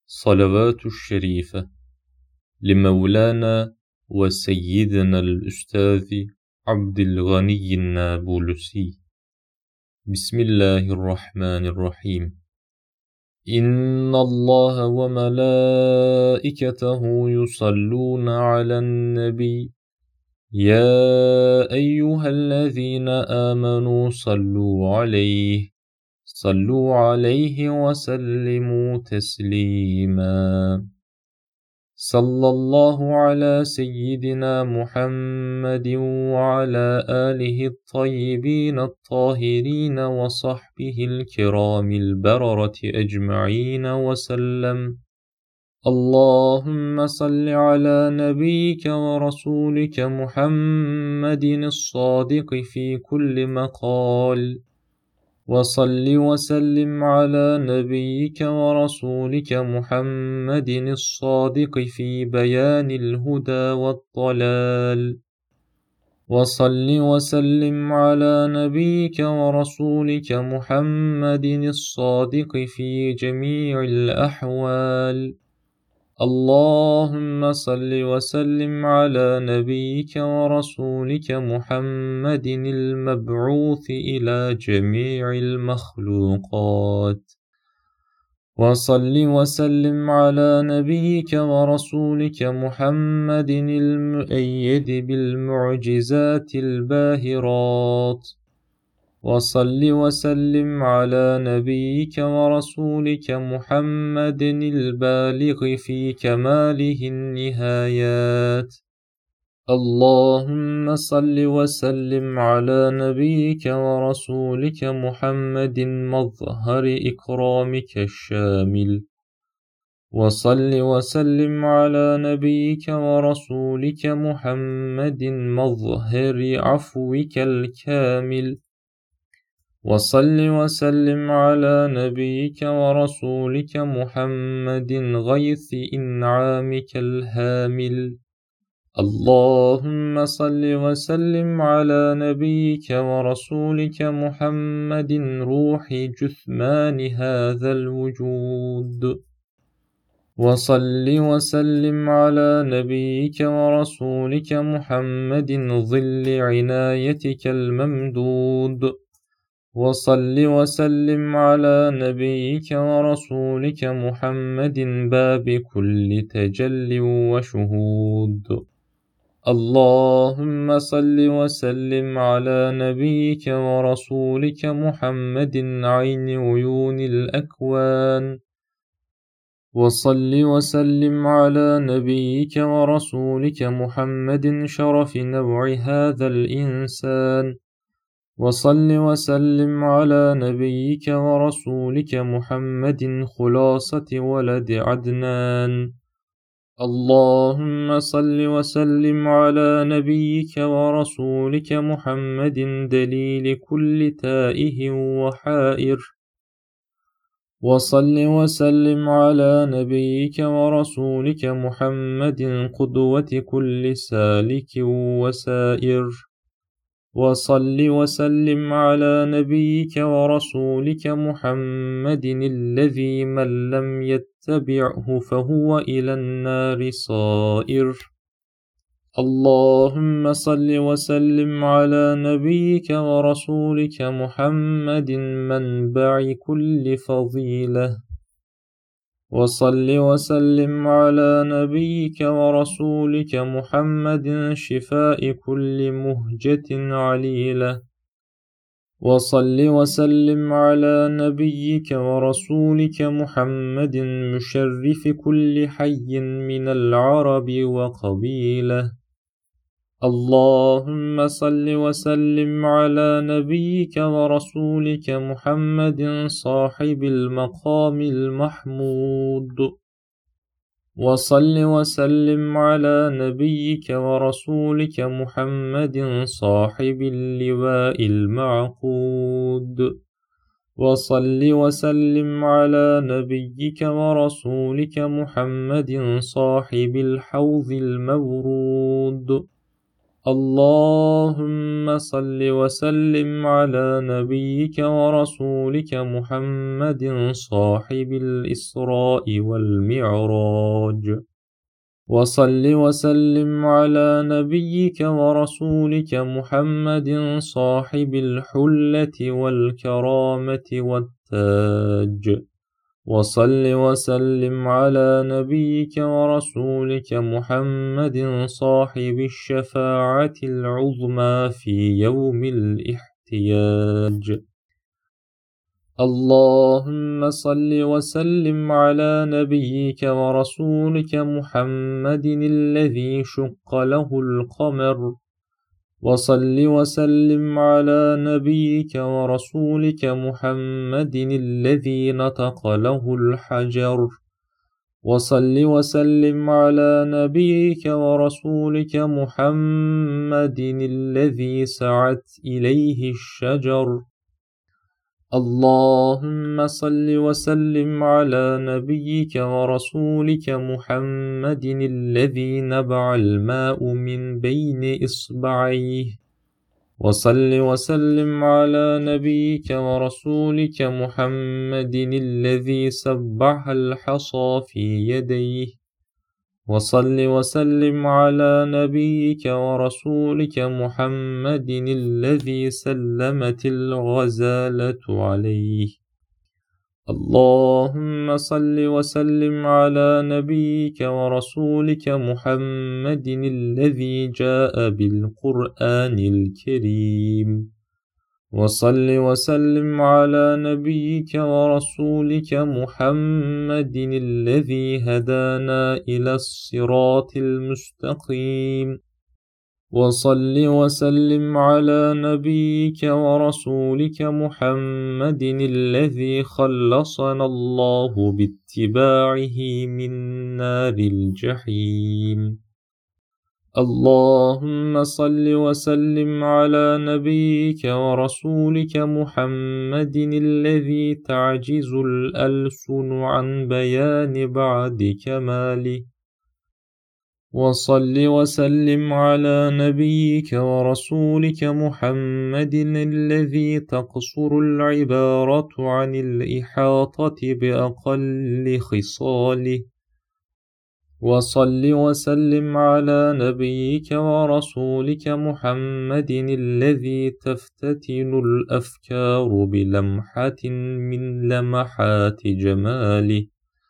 صلوات الشريفة لمولانا وسيدنا الأستاذ عبد الغني النابلسي. بسم الله الرحمن الرحيم. إن الله وملائكته يصلون على النبي يا أيها الذين آمنوا صلوا عليه وسلموا تسليما. صلى الله على سيدنا محمد وعلى آله الطيبين الطاهرين وصحبه الكرام البررة أجمعين وسلم. اللهم صل على نبيك ورسولك محمد الصادق في كل مقال، وصل وسلم على نبيك ورسولك محمد الصادق في بيان الهدى والضلال، وصل وسلم على نبيك ورسولك محمد الصادق في جميع الأحوال. اللهم صل وسلم على نبيك ورسولك محمد المبعوث إلى جميع المخلوقات، وصل وسلم على نبيك ورسولك محمد المؤيد بالمعجزات الباهرات، وصل وسلم على نبيك ورسولك محمد البالغ في كماله النهايات. اللهم صل وسلم على نبيك ورسولك محمد مظهر إكرامك الشامل، وصل وسلم على نبيك ورسولك محمد مظهر عفوك الكامل، وصل وسلم على نبيك ورسولك محمد غيث إنعامك الهامل. اللهم صل وسلم على نبيك ورسولك محمد روح جثمان هذا الوجود، وصل وسلم على نبيك ورسولك محمد ظل عنايتك الممدود، وصل وسلم على نبيك ورسولك محمد باب كل تجل وشهود. اللهم صل وسلم على نبيك ورسولك محمد عين عيون الأكوان، وصل وسلم على نبيك ورسولك محمد شرف نوع هذا الإنسان، وصل وسلم على نبيك ورسولك محمد خلاصة ولد عدنان. اللهم صل وسلم على نبيك ورسولك محمد دليل كل تائه وحائر، وصل وسلم على نبيك ورسولك محمد قدوة كل سالك وسائر، وصل وسلم على نبيك ورسولك محمد الذي من لم يتبعه فهو إلى النار صائر. اللهم صل وسلم على نبيك ورسولك محمد منبع كل فضيلة، وصل وسلم على نبيك ورسولك محمد شفاء كل مهجة عليلة، وصل وسلم على نبيك ورسولك محمد مشرف كل حي من العرب وقبيلة. اللهم صل وسلم على نبيك ورسولك محمد صاحب المقام المحمود، وصل وسلم على نبيك ورسولك محمد صاحب اللواء المعقود، وصل وسلم على نبيك ورسولك محمد صاحب الحوض المورود، اللهم صل وسلم على نبيك ورسولك محمد صاحب الإسراء والمعراج، وصل وسلم على نبيك ورسولك محمد صاحب الحلة والكرامة والتاج، وصل وسلم على نبيك ورسولك محمد صاحب الشفاعة العظمى في يوم الاحتياج. اللهم صل وسلم على نبيك ورسولك محمد الذي شق له القمر، وصل وسلم على نبيك ورسولك محمد الذي نطق له الحجر، وصل وسلم على نبيك ورسولك محمد الذي سعت إليه الشجر. اللهم صل وسلم على نبيك ورسولك محمد الذي نبع الماء من بين إصبعيه، وصل وسلم على نبيك ورسولك محمد الذي سبح الحصى في يديه، وصل وسلم على نبيك ورسولك محمد الذي سلمت الغزالة عليه. اللهم صل وسلم على نبيك ورسولك محمد الذي جاء بالقرآن الكريم، وصل وسلم على نبيك ورسولك محمد الذي هدانا إلى الصراط المستقيم، وصل وسلم على نبيك ورسولك محمد الذي خلصنا الله باتباعه من نار الجحيم. اللهم صل وسلم على نبيك ورسولك محمد الذي تعجز الألسن عن بيان بعد كماله، وصل وسلم على نبيك ورسولك محمد الذي تقصر العبارة عن الإحاطة بأقل خصاله، وصل وسلم على نبيك ورسولك محمد الذي تفتتن الأفكار بلمحة من لمحات جماله.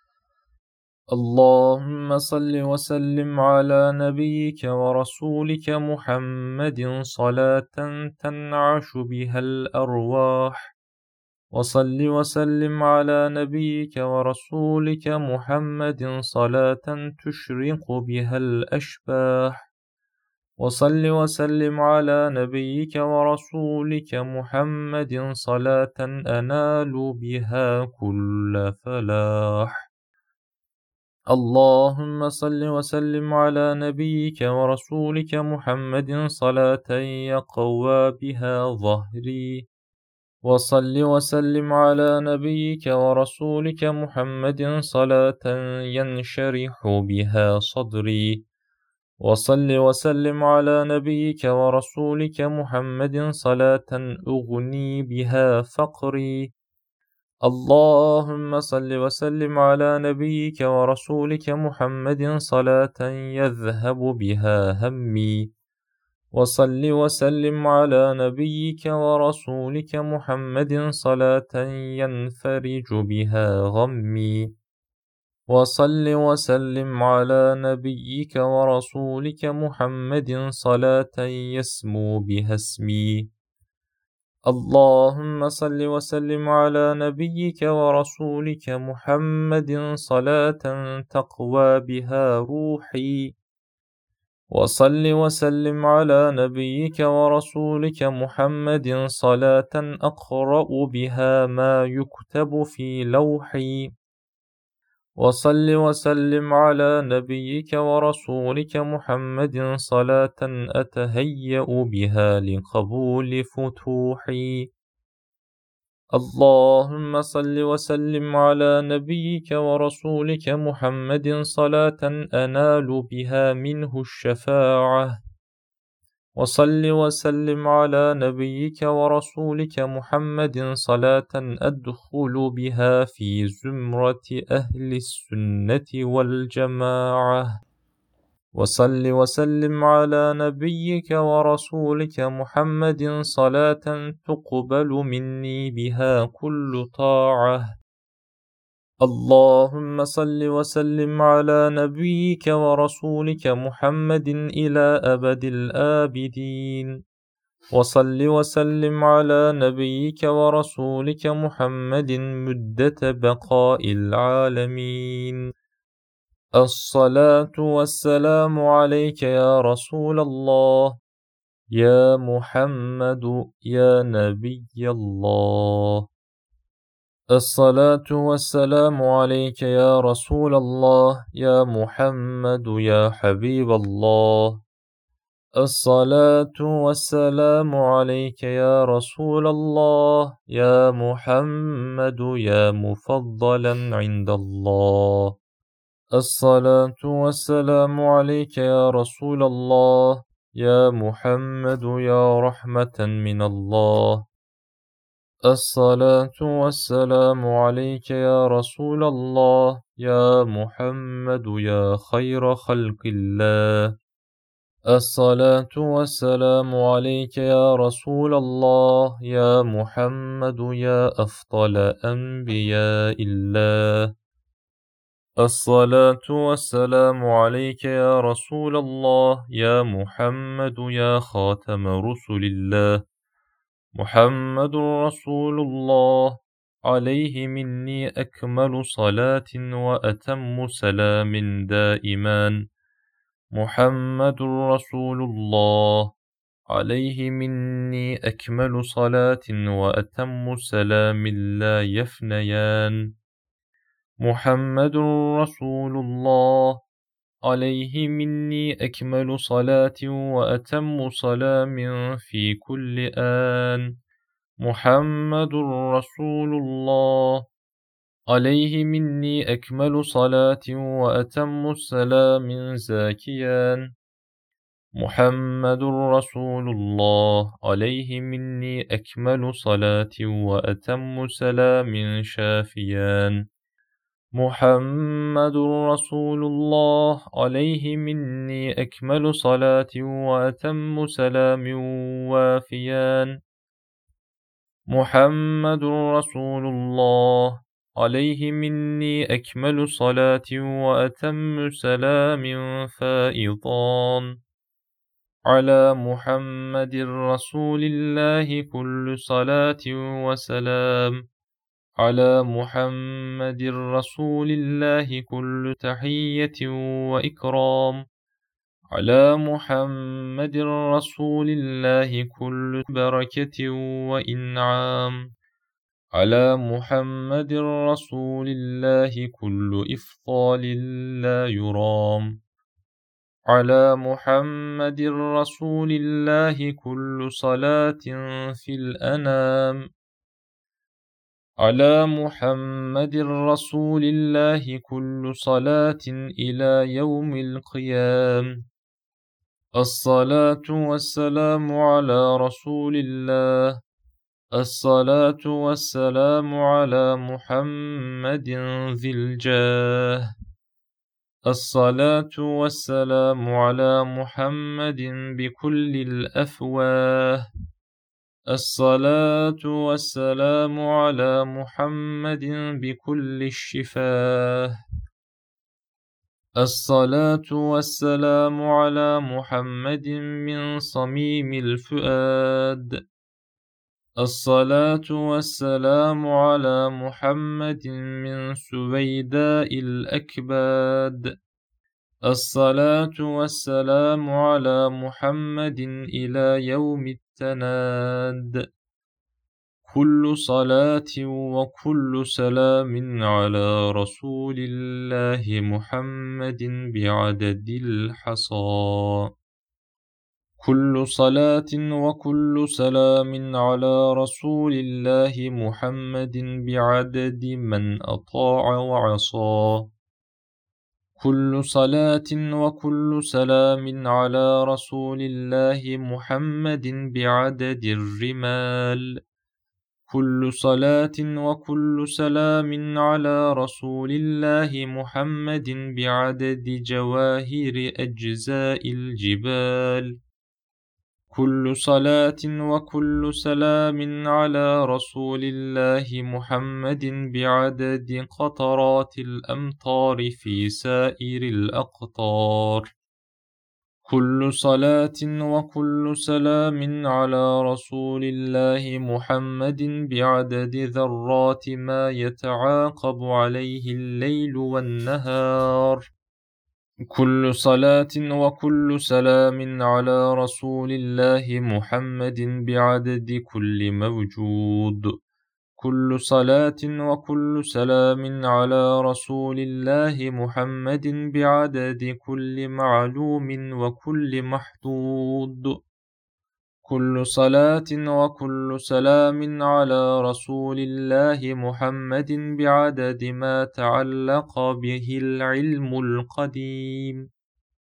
اللهم صل وسلم على نبيك ورسولك محمد صلاة تنعش بها الأرواح، وصل وسلم على نبيك ورسولك محمد صلاة تشرق بها الأشباح، وصل وسلم على نبيك ورسولك محمد صلاة أنال بها كل فلاح. اللهم صل وسلم على نبيك ورسولك محمد صلاة يقوى بها ظهري، وصل وسلم على نبيك ورسولك محمد صلاة ينشرح بها صدري، وصل وسلم على نبيك ورسولك محمد صلاة أغني بها فقري. اللهم صل وسلم على نبيك ورسولك محمد صلاة يذهب بها همي، وصل وسلم على نبيك ورسولك محمد صلاة ينفرج بها غمي، وصل وسلم على نبيك ورسولك محمد صلاة يسمو بها اسمي. اللهم صل وسلم على نبيك ورسولك محمد صلاة تقوى بها روحي، وصل وسلم على نبيك ورسولك محمد صلاة أقرأ بها ما يكتب في لوحي، وصل وسلم على نبيك ورسولك محمد صلاة أتهيأ بها لقبول فتوحي. اللهم صل وسلم على نبيك ورسولك محمد صلاة أنال بها منه الشفاعة، وصل وسلم على نبيك ورسولك محمد صلاة أدخل بها في زمرة أهل السنة والجماعة. وصل وسلم على نبيك ورسولك محمد صلاة تقبل مني بها كل طاعة. اللهم صل وسلم على نبيك ورسولك محمد إلى أبد الآبدين. وصل وسلم على نبيك ورسولك محمد مدة بقاء العالمين. الصلاة والسلام عليك يا رسول الله، يا محمد، يا نبي الله. الصلاة والسلام عليك يا رسول الله، يا محمد، يا حبيب الله. الصلاة والسلام عليك يا رسول الله، يا محمد، يا مفضلا عند الله. الصلاة والسلام عليك يا رسول الله، يا محمد، يا رحمة من الله. الصلاة والسلام عليك يا رسول الله، يا محمد، يا خير خلق الله. الصلاة والسلام عليك يا رسول الله، يا محمد، يا أفضل أنبياء الله. الصلاة والسلام عليك يا رسول الله، يا محمد، يا خاتم رسل الله. محمد رسول الله، عليه مني أكمل صلاة وأتم سلام دائما. محمد رسول الله، عليه مني أكمل صلاة وأتم سلام لا يفنيان. محمد رسول الله، عليه مني أكمل صلاة وأتم سلام في كل آن. محمد رسول الله، عليه مني أكمل صلاة وأتم السلام زاكيان. محمد رسول الله، عليه مني أكمل صلاة وأتم سلام شافيان. محمد رسول الله، عليه مني أكمل صلاة وأتم سلام وافيان. محمد رسول الله، عليه مني أكمل صلاة وأتم سلام فائضان. على محمد رسول الله كل صلاة وسلام. على محمد رسول الله كل تحية وإكرام. على محمد رسول الله كل بركة وإنعام. على محمد رسول الله كل إفضال لا يرام. على محمد رسول الله كل صلاة في الأنام. على محمد رسول الله كل صلاة إلى يوم القيام. الصلاة والسلام على رسول الله. الصلاة والسلام على محمد ذي الجاه. الصلاة والسلام على محمد بكل الأفواه. الصلاة والسلام على محمد بكل الشفاه. الصلاة والسلام على محمد من صميم الفؤاد. الصلاة والسلام على محمد من سويداء الأكباد. الصلاة والسلام على محمد إلى يوم التناد. كل صلاة وكل سلام على رسول الله محمد بعدد الحصى. كل صلاة وكل سلام على رسول الله محمد بعدد من أطاع وعصى. كل صلاة وكل سلام على رسول الله محمد بعدد الرمال. كل صلاة وكل سلام على رسول الله محمد بعدد جواهر أجزاء الجبال. كل صلاة وكل سلام على رسول الله محمد بعدد قطرات الأمطار في سائر الأقطار. كل صلاة وكل سلام على رسول الله محمد بعدد ذرات ما يتعاقب عليه الليل والنهار. كل صلاة وكل سلام على رسول الله محمد بعدد كل موجود. كل صلاة وكل سلام على رسول الله محمد بعدد كل معلوم وكل محدود. كل صلاة وكل سلام على رسول الله محمد بعدد ما تعلق به العلم القديم.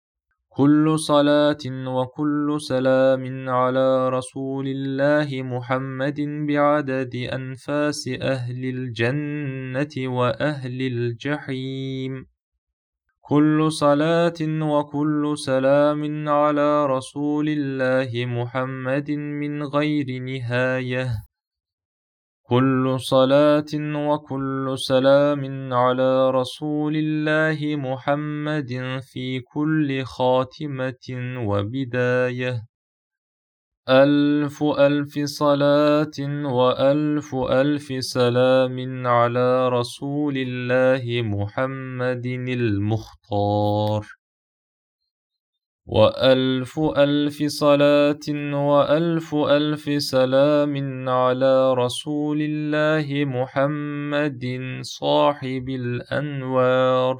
كل صلاة وكل سلام على رسول الله محمد بعدد أنفاس أهل الجنة وأهل الجحيم. كل صلاة وكل سلام على رسول الله محمد من غير نهاية. كل صلاة وكل سلام على رسول الله محمد في كل خاتمة وبداية. ألف ألف صلاة وألف ألف سلام على رسول الله محمد المختار. وألف ألف صلاة وألف ألف سلام على رسول الله محمد صاحب الأنوار.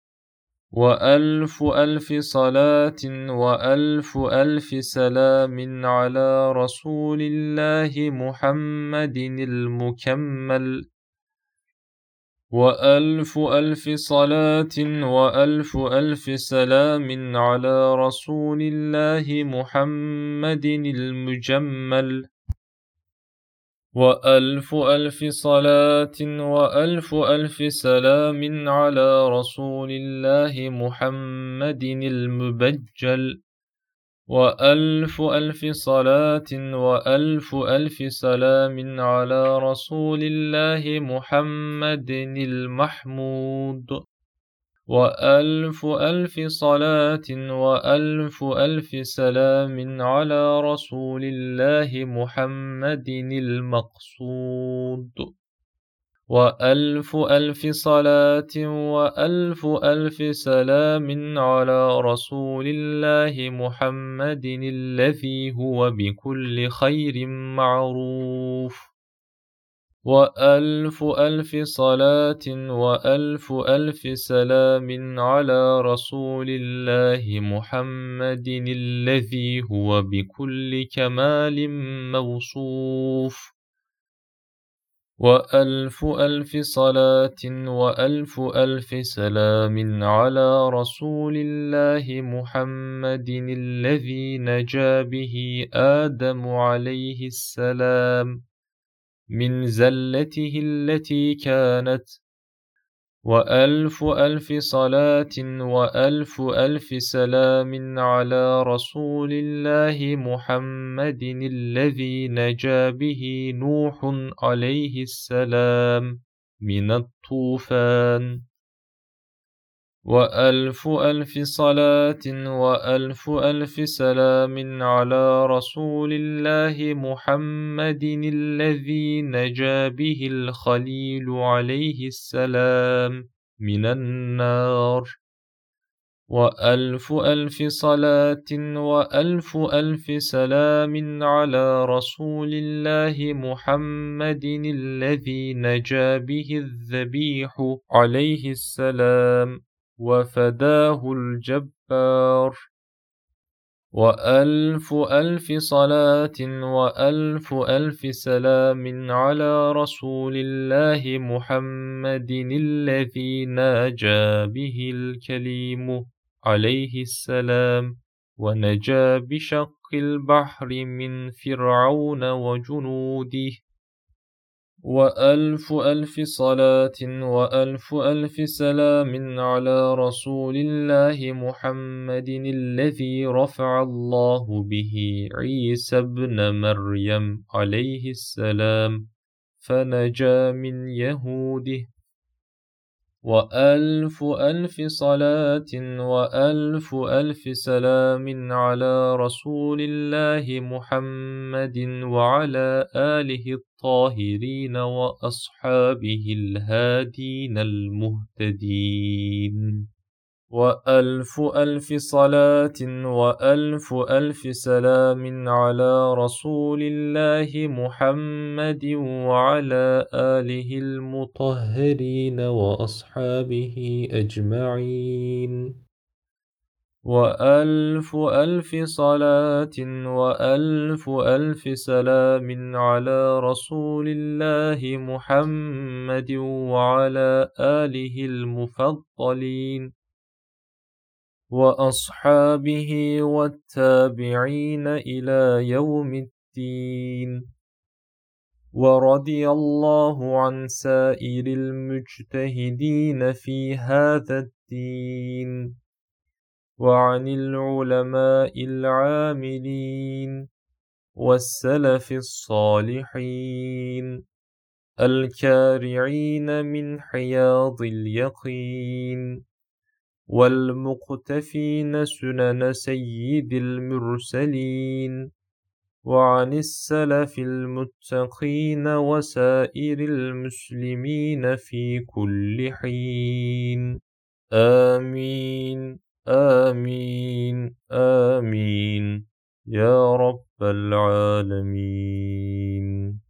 وألف ألف صلاة وألف ألف سلام على رسول الله محمد المكمل. وألف ألف صلاة وألف ألف سلام على رسول الله محمد المجمل. وألف ألف صلاة وألف ألف سلام على رسول الله محمد المبجل. وألف ألف صلاة وألف ألف سلام على رسول الله محمد المحمود. وألف ألف صلاة وألف ألف سلام على رسول الله محمد المقصود. وألف ألف صلاة وألف ألف سلام على رسول الله محمد الذي هو بكل خير معروف. وألف ألف صلاة وألف ألف سلام على رسول الله محمد الذي هو بكل كمال موصوف. وألف ألف صلاة وألف ألف سلام على رسول الله محمد الذي نجا به آدم عليه السلام من زلته التي كانت. وألف ألف صلاة وألف ألف سلام على رسول الله محمد الذي نجا به نوح عليه السلام من الطوفان. وألف ألف صلاة وألف ألف سلام على رسول الله محمد الذي نجا به الخليل عليه السلام من النار. وألف ألف صلاة وألف ألف سلام على رسول الله محمد الذي نجا به الذبيح عليه السلام وفداه الجبار. وألف ألف صلاة وألف ألف سلام على رسول الله محمد الذي ناجى به الكليم عليه السلام ونجا بشق البحر من فرعون وجنوده. وألف ألف صلاة وألف ألف سلام على رسول الله محمد الذي رفع الله به عيسى ابن مريم عليه السلام فنجا من يهوده. وألف ألف صلاة وألف ألف سلام على رسول الله محمد وعلى آله الطاهرين وأصحابه الهادين المهتدين. وألف ألف صلاة وألف ألف سلام على رسول الله محمد وعلى آله المطهرين وأصحابه أجمعين. وألف ألف صلاة وألف ألف سلام على رسول الله محمد وعلى آله المفضلين وأصحابه والتابعين إلى يوم الدين. ورضي الله عن سائر المجتهدين في هذا الدين وعن العلماء العاملين والسلف الصالحين الكارعين من حياض اليقين والمقتفين سنن سيد المرسلين وعن السلف المتقين وسائر المسلمين في كل حين. آمين آمين آمين يا رب العالمين.